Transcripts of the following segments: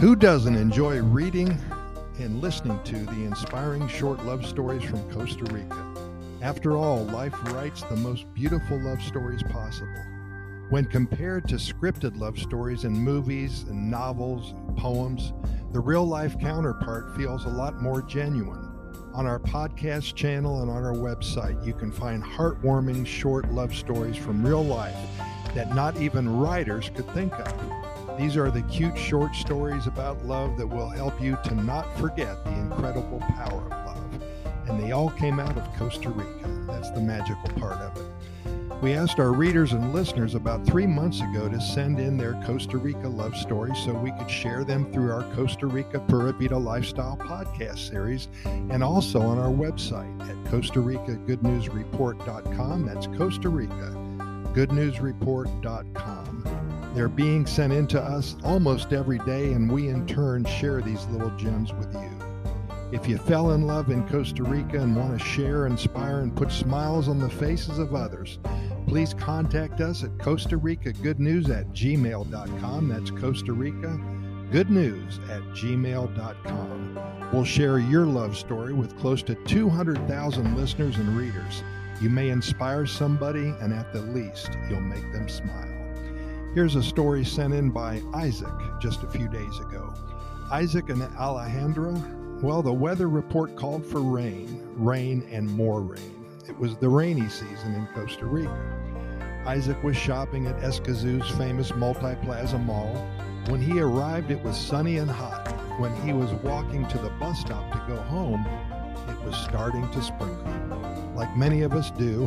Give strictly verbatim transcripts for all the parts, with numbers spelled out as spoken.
Who doesn't enjoy reading and listening to the inspiring short love stories from Costa Rica? After all, life writes the most beautiful love stories possible. When compared to scripted love stories in movies and novels and poems, the real-life counterpart feels a lot more genuine. On our podcast channel and on our website, you can find heartwarming short love stories from real life that not even writers could think of. These are the cute short stories about love that will help you to not forget the incredible power of love. And they all came out of Costa Rica. That's the magical part of it. We asked our readers and listeners about three months ago to send in their Costa Rica love stories so we could share them through our Costa Rica Pura Vida Lifestyle podcast series and also on our website at Costa Rica Good News Report dot com. That's Costa Rica Good News Report dot com. They're being sent in to us almost every day, and we in turn share these little gems with you. If you fell in love in Costa Rica and want to share, inspire, and put smiles on the faces of others, please contact us at Costa Rica Good News at gmail dot com. That's Costa Rica Good News at gmail dot com. We'll share your love story with close to two hundred thousand listeners and readers. You may inspire somebody, and at the least, you'll make them smile. Here's a story sent in by Isaac just a few days ago. Isaac and Alejandra, well, the weather report called for rain, rain, and more rain. It was the rainy season in Costa Rica. Isaac was shopping at Escazú's famous Multi-Plaza Mall. When he arrived, it was sunny and hot. When he was walking to the bus stop to go home, it was starting to sprinkle. Like many of us do,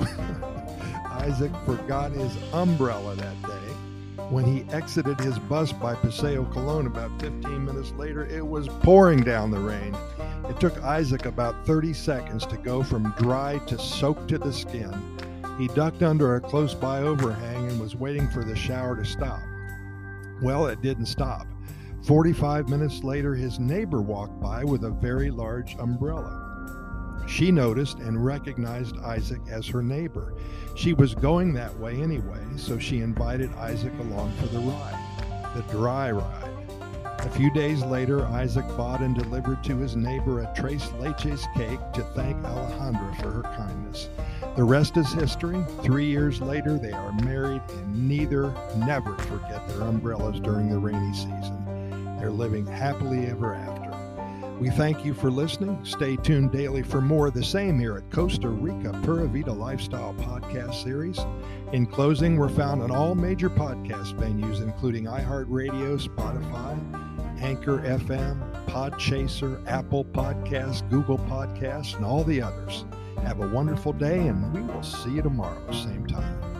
Isaac forgot his umbrella that day. When he exited his bus by Paseo Colón about fifteen minutes later, it was pouring down the rain. It took Isaac about thirty seconds to go from dry to soaked to the skin. He ducked under a close-by overhang and was waiting for the shower to stop. Well, it didn't stop. forty-five minutes later, his neighbor walked by with a very large umbrella. She noticed and recognized Isaac as her neighbor. She was going that way anyway, so she invited Isaac along for the ride, the dry ride. A few days later, Isaac bought and delivered to his neighbor a Tres Leches cake to thank Alejandra for her kindness. The rest is history. Three years later, they are married, and neither never forget their umbrellas during the rainy season. They're living happily ever after. We thank you for listening. Stay tuned daily for more of the same here at Costa Rica Pura Vida Lifestyle podcast series. In closing, we're found on all major podcast venues, including iHeartRadio, Spotify, Anchor F M, Podchaser, Apple Podcasts, Google Podcasts, and all the others. Have a wonderful day, and we will see you tomorrow, same time.